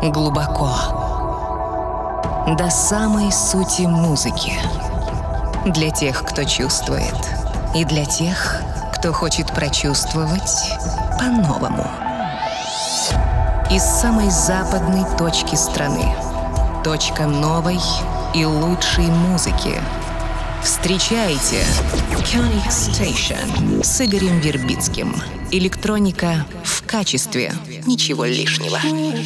глубоко, до самой сути музыки. Для тех, кто чувствует, и для тех, кто хочет прочувствовать по-новому. Из самой западной точки страны. Точка новой и лучшей музыки. Встречайте Koenig Station с Игорем Вербицким. Электроника в качестве, ничего лишнего.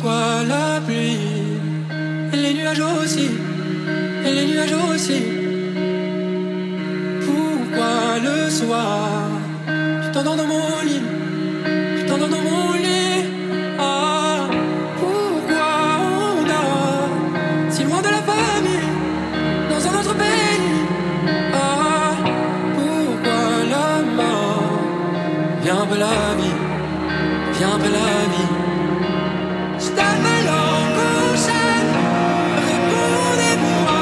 Pourquoi le soir tu t'endors dans mon lit, tu t'endors dans mon lit. Ah, pourquoi on dort si loin de la famille, dans un autre pays. Ah, pourquoi la mort vient après la vie, vient après la vie. Je t'appelle en couchant, répondez-moi.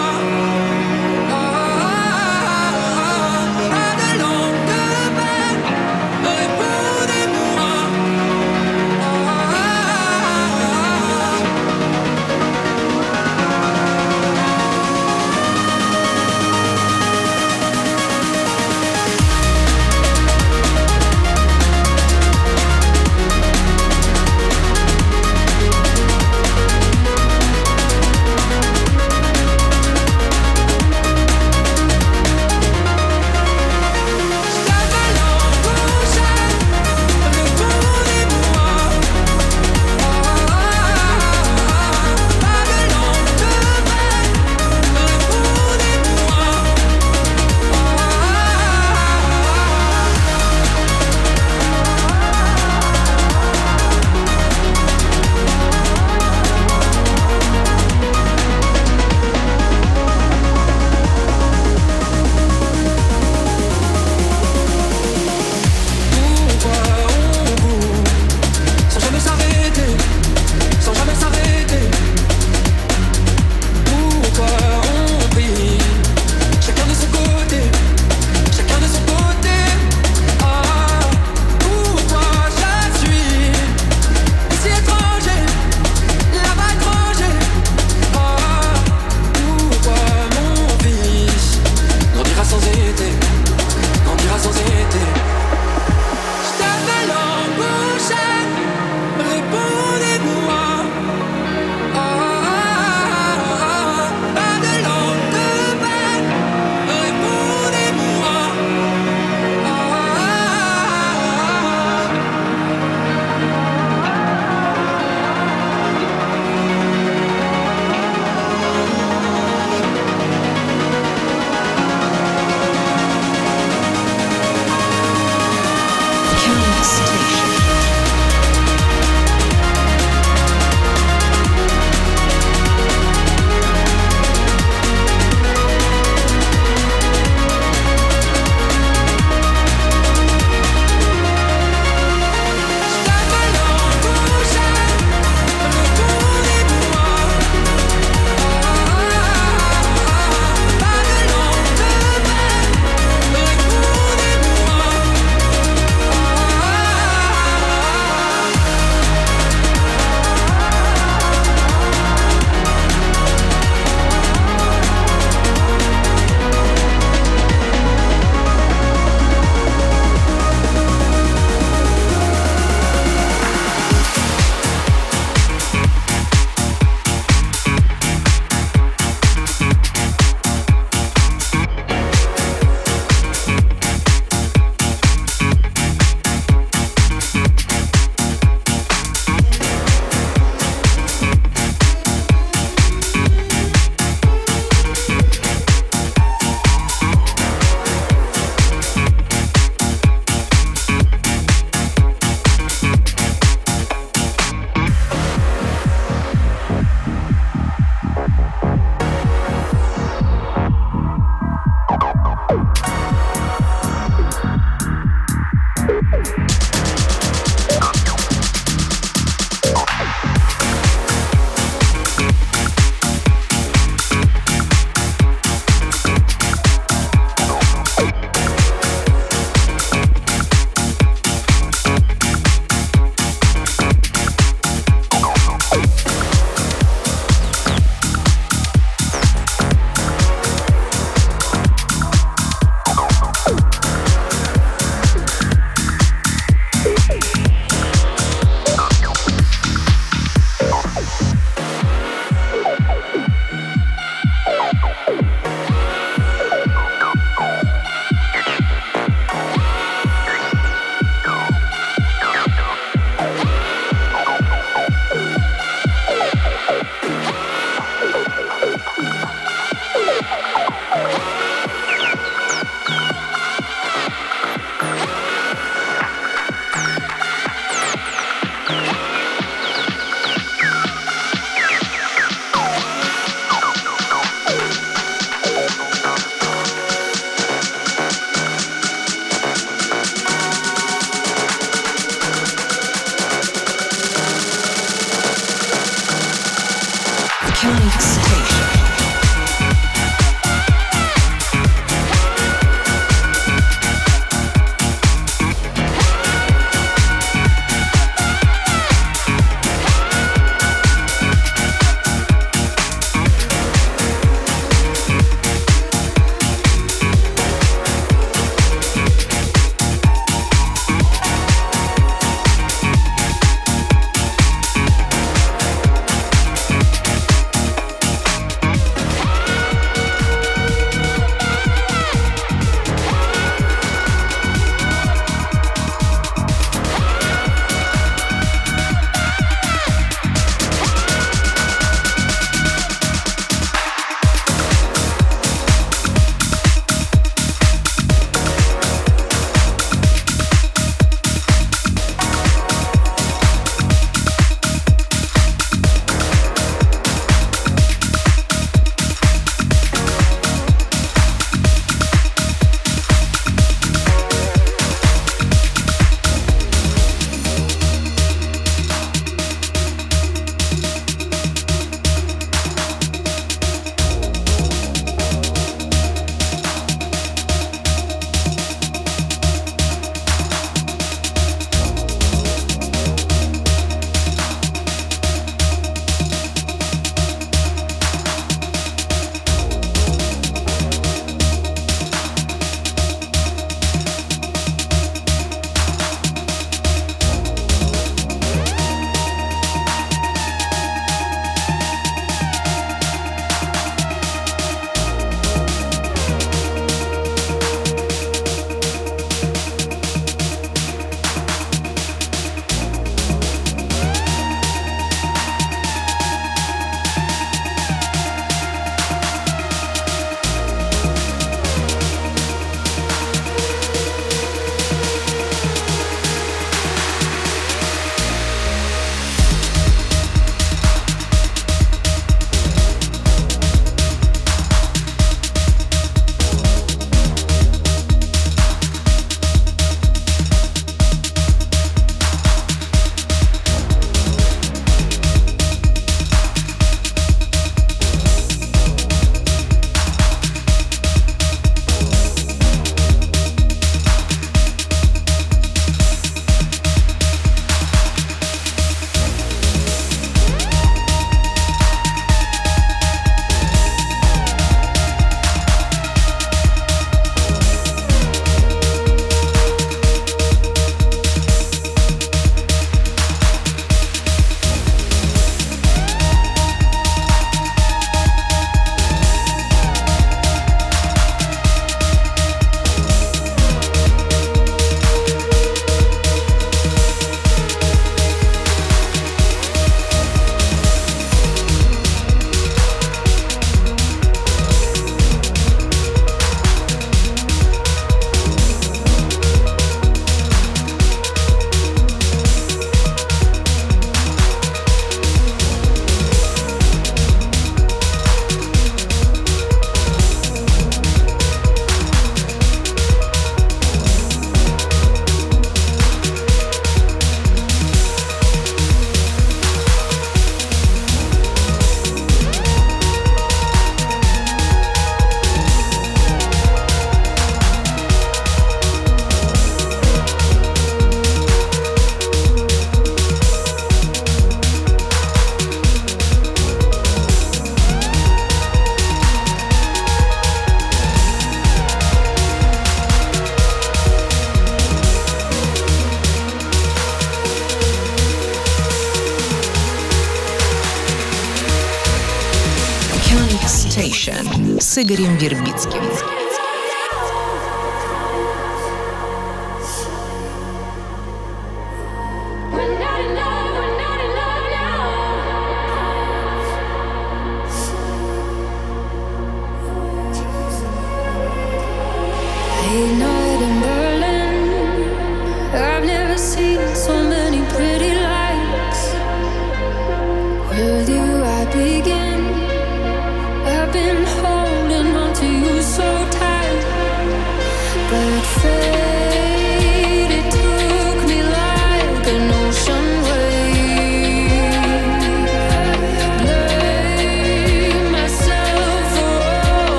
Station с Игорем Вербицким.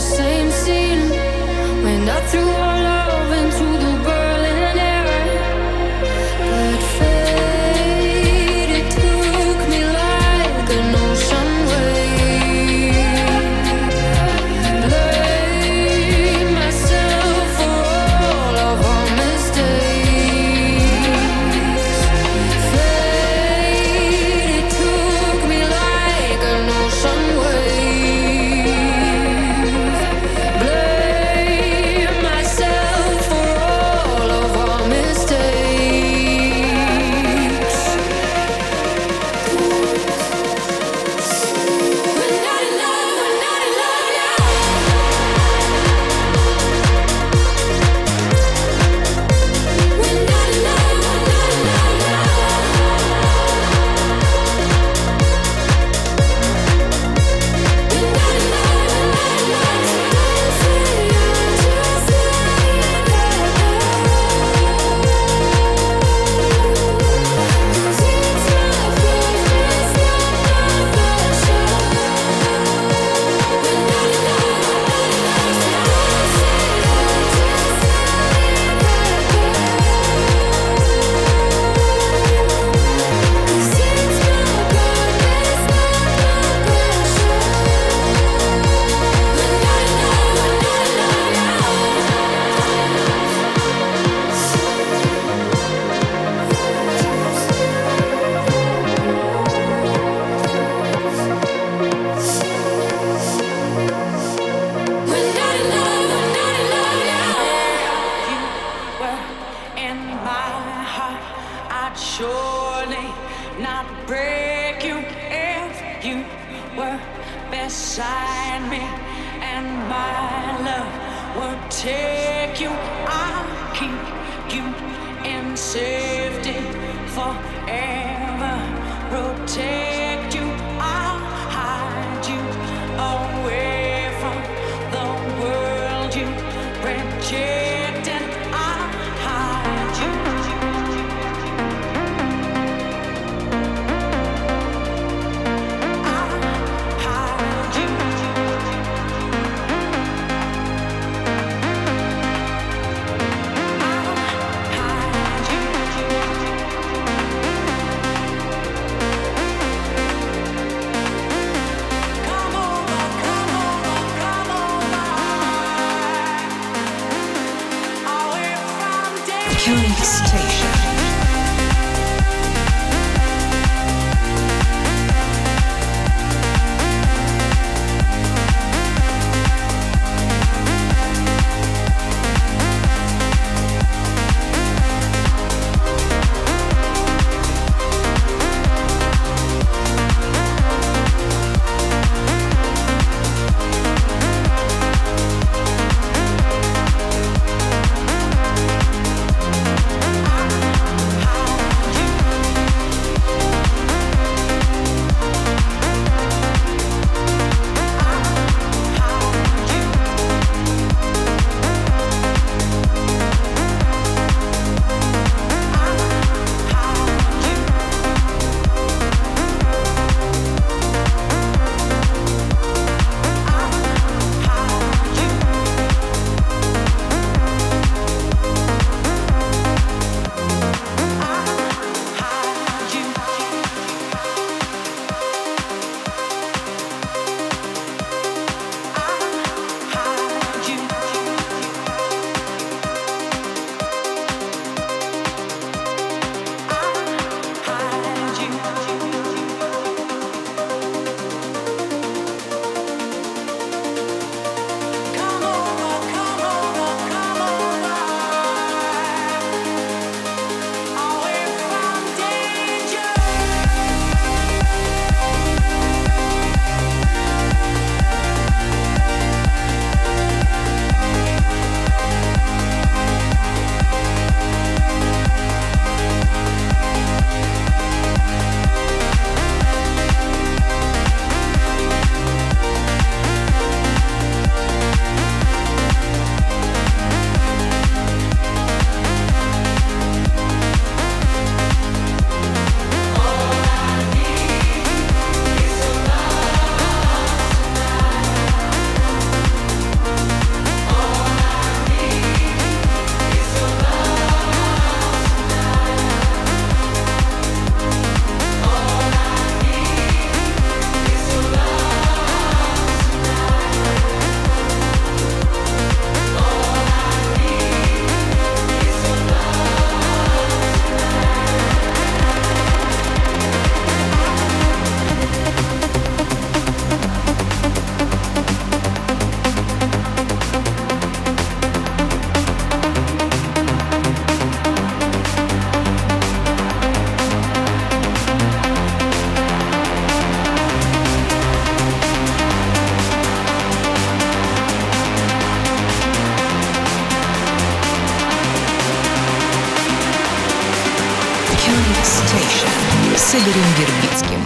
same scene when I threw our love into the whirling air. But fate, it took me like an ocean wave. Blame myself for all of our mistakes. Fate, it took me like an ocean wave. Blame myself for all of our mistakes. We're not in love, we're not in love, yeah. We're not in love, we're not in love, yeah. We're not in love, we're not in love, so don't say you're just lying there. 'Cause it's my purpose, not my pressure. We're not in love, we're not in love, so don't say you're just lying there. 'Cause it's my purpose, not my pressure. We're not in love, we're not in love, we're not in love, we're not in love, yeah. You were in my heart, I'd surely not break you if you were beside me, and my love would take you. I'll keep you in safety forever, protect you. I'll hide you away from the world you rejected. I'll hide you. I'll hide you. I'll hide you. Come over, come over, come over. Away from danger. Curious Station. I'll с Игорем Вербицким.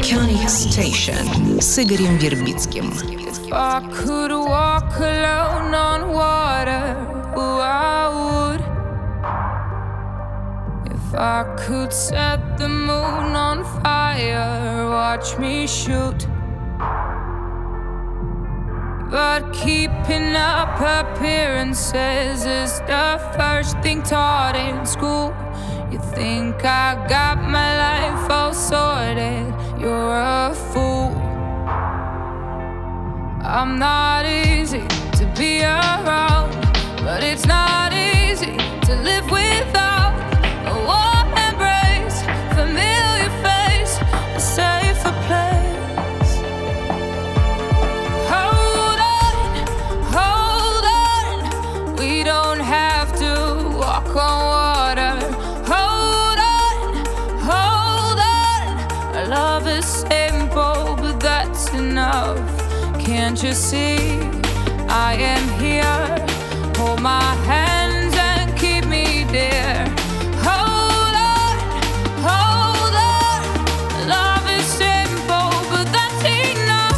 Iconic Station с Игорем Вербицким. If I could walk alone on water, oh, I would. If I could set the moon on fire, watch me shoot. But keeping up appearances is the first thing taught in school. You think I got my life all sorted, you're a fool. I'm not easy to be around, but it's not easy to live without a warm embrace, familiar face, a safer place. Hold on, we don't have to walk on water. Hold on, our love is simple, but that's enough. Can't you see, I am here. Hold my hands and keep me dear. Hold on, love is simple, but that's enough.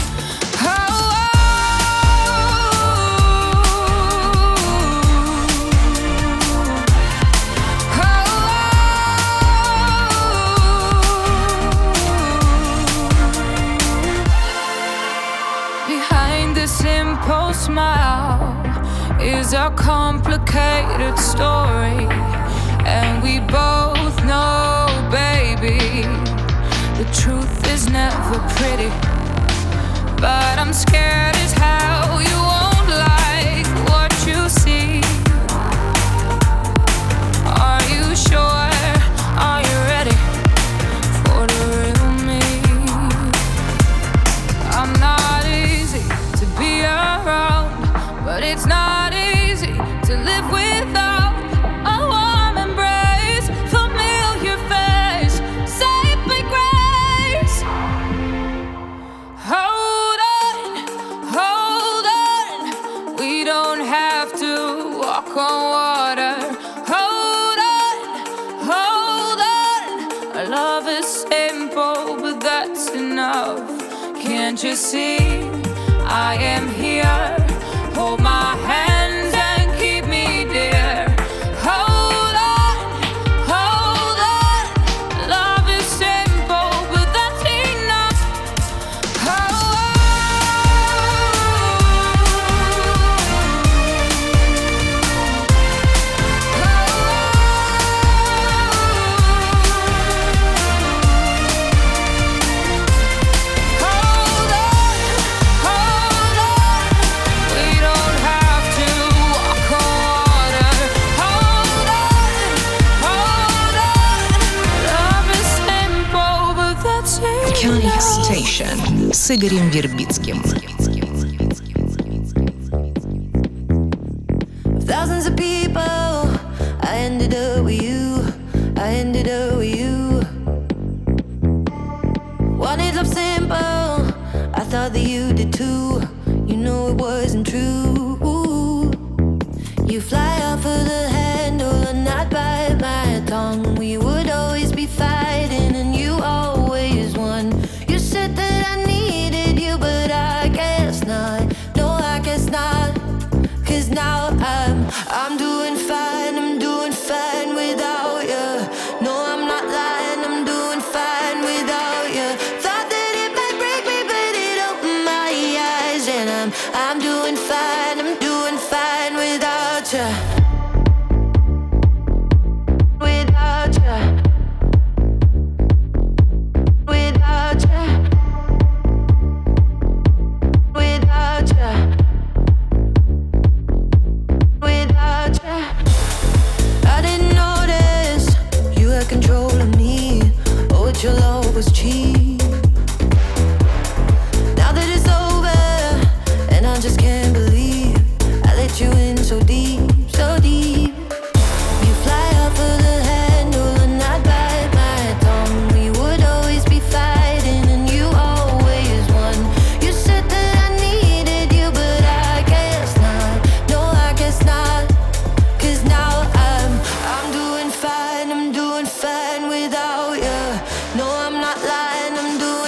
Behind the simple smile is a complicated story, and we both know, baby, the truth is never pretty. But I'm scared as hell you won't like what you see. Are you sure? Are you ready for the real me? I'm not easy to be around, but it's not easy to live without a warm embrace, familiar face, safe by grace. Hold on, we don't have to walk on water. Hold on, our love is simple, but that's enough. Can't you see, I am here. Hold my hands and keep me dear. Hold on, love is simple, but that's enough. We don't have to walk on water. Hold on, love is simple, but that's Iconic enough. Station с Игорем Вербицким. Thousands of people, I ended up with you. I ended up with you. Wanted love simple, I thought that you did too. You know it wasn't true. You fly off of the handle and not bite my tongue. We would always be fighting and you always won. You said that I needed you, but I guess not. No, I guess not. 'Cause now I'm doing fine, I'm doing fine without you. No, I'm not lying, I'm doing fine without you. Thought that it might break me, but it opened my eyes. And I'm doing fine, I'm doing fine without you. Without you. Without you. Without you. Without you, I didn't notice you had control of me. Oh, but your love was cheap. Now that it's over, and I just can't believe I let you in so deep, so deep. You fly off of the handle and I'd bite my tongue. We would always be fighting and you always won. You said that I needed you, but I guess not. No, I guess not. 'Cause now I'm doing fine, I'm doing fine without you. No, I'm not lying, I'm doing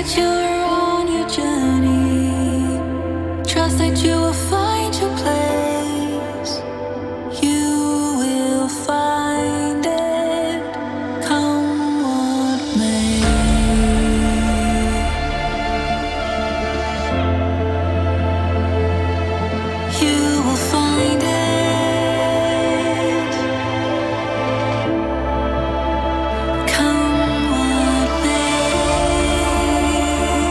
you're on your journey. Trust that you will find your place. You will find it, come what may. You will find it, come what may.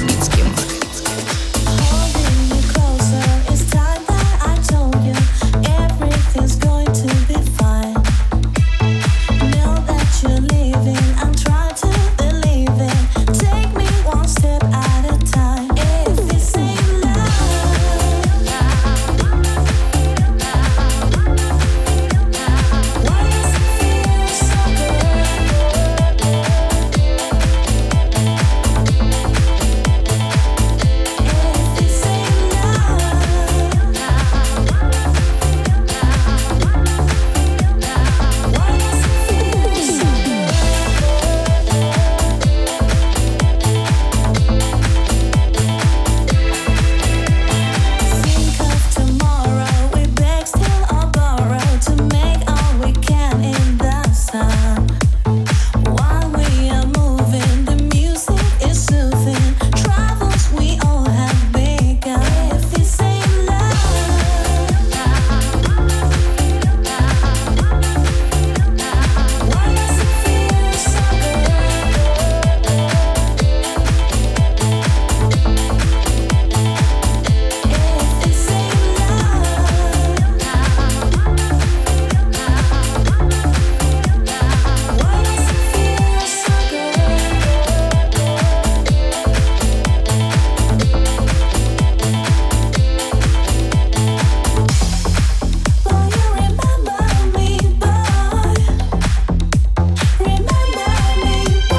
Вербицким. Holding you closer, it's time that I told you everything's going to be fine. Now that you're leaving, I'm trying to believe it. Take me one step at a time. If this ain't love, why does it feel so good? If this ain't love, why does it feel so Think of tomorrow, we beg, steal or borrow to make all we can in the sun. While we are moving, the music is soothing. Travels we all have begun. If this ain't love, why does it feel so good? If this ain't love, why does it feel so good? Will you remember me, boy? Remember me,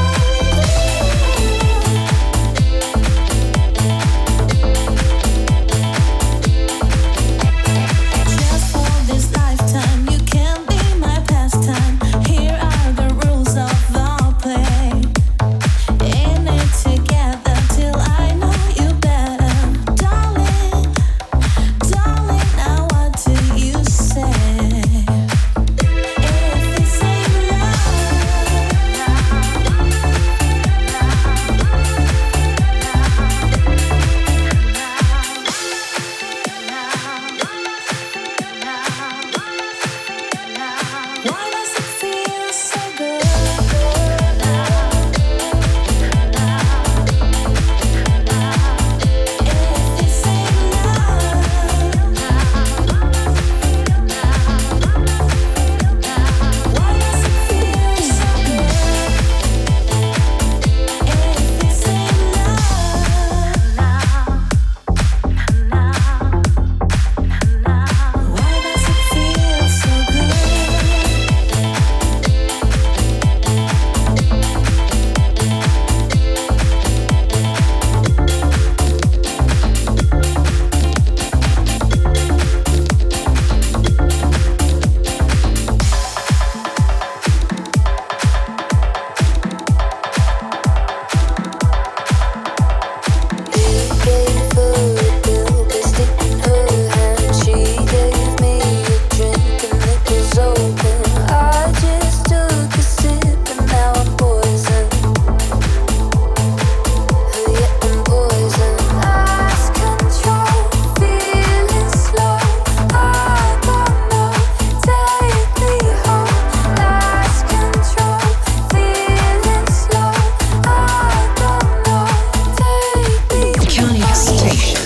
Just for this lifetime, you can be my pastime. Here are the rules of the play. In it together till I know you better, darling. Darling, now what do you say? If this ain't love, why does it feel so good? If this ain't love, why does it feel so good? If this ain't love, why does it feel so good? König Station.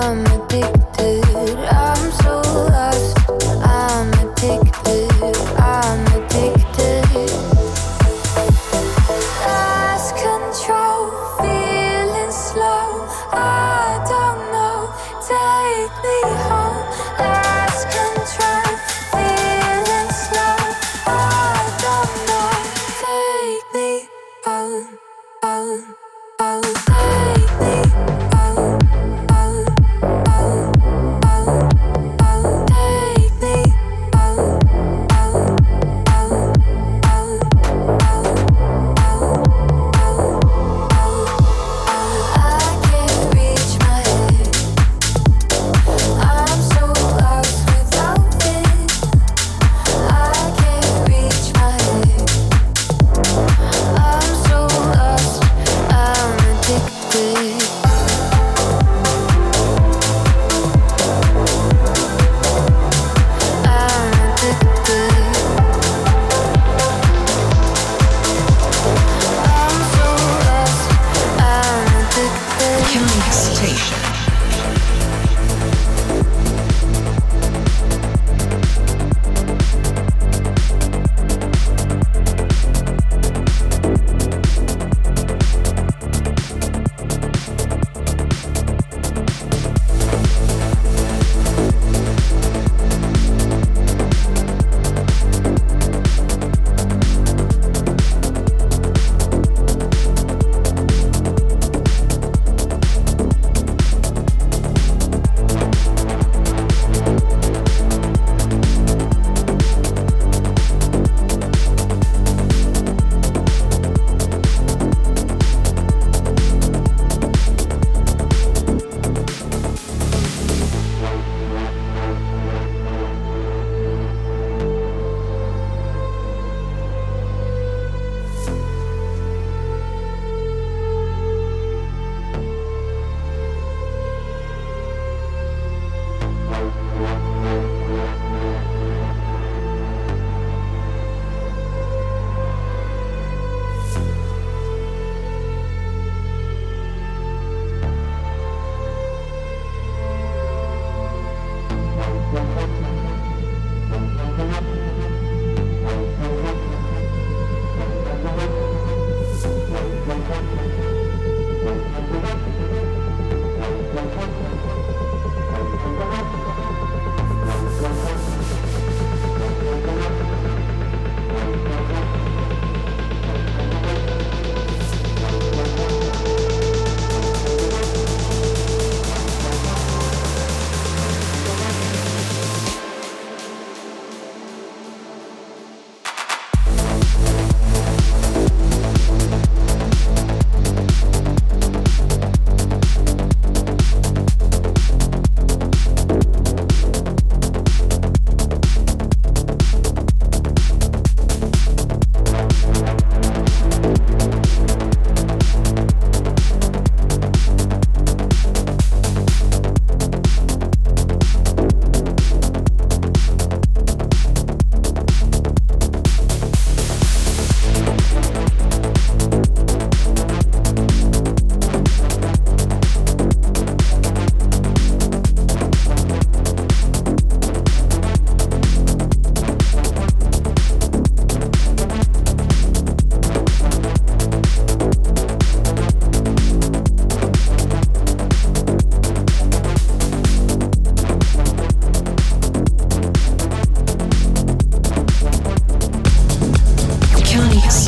addicted. I'm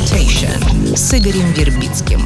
Station с Игорем Вербицким.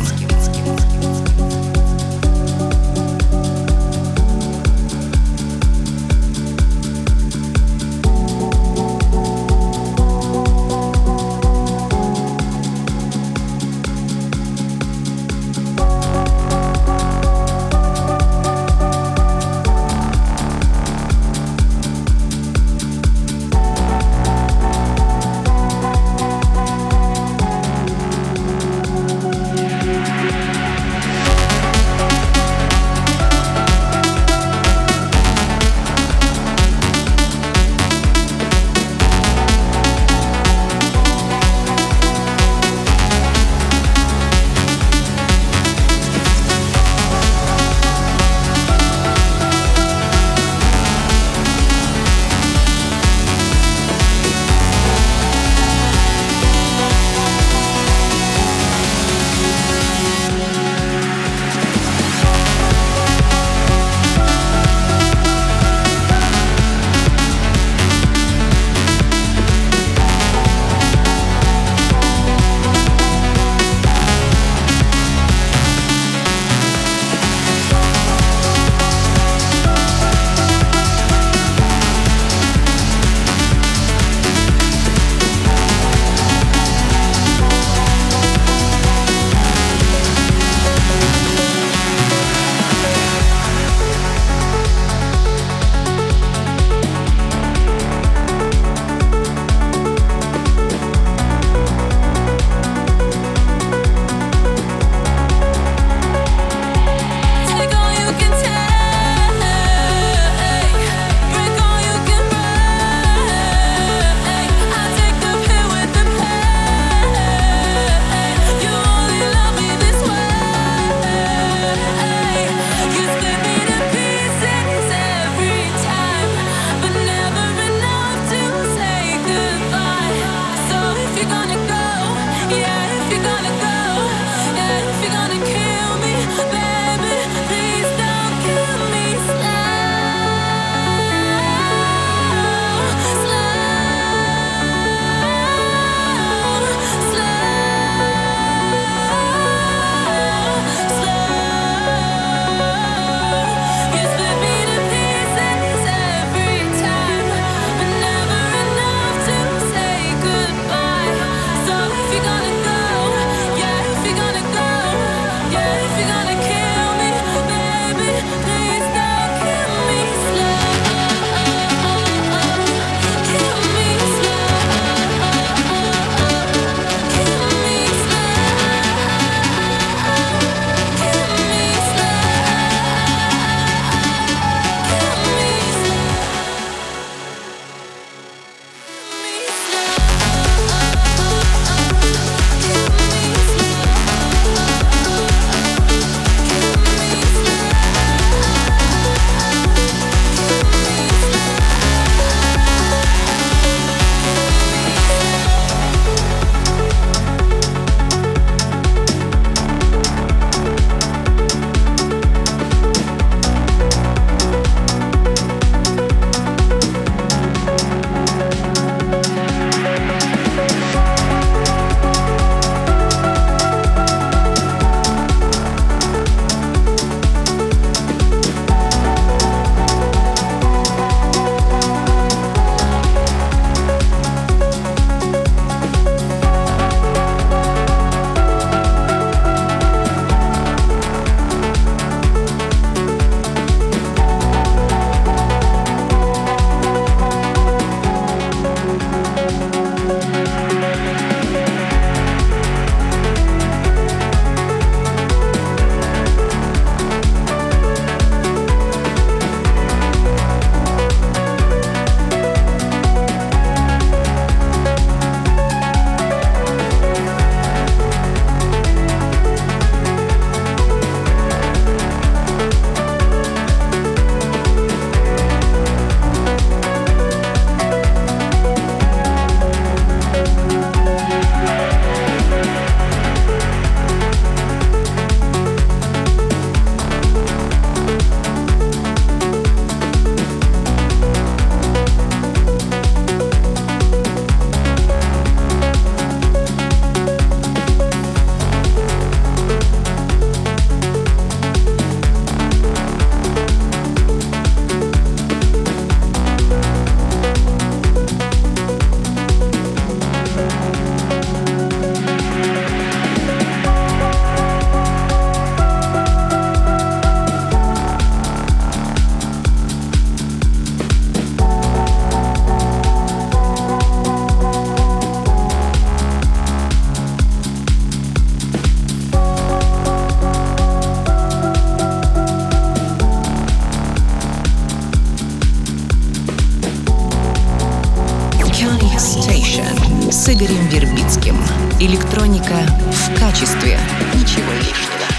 с Игорем Вербицким. Электроника в качестве. Ничего лишнего.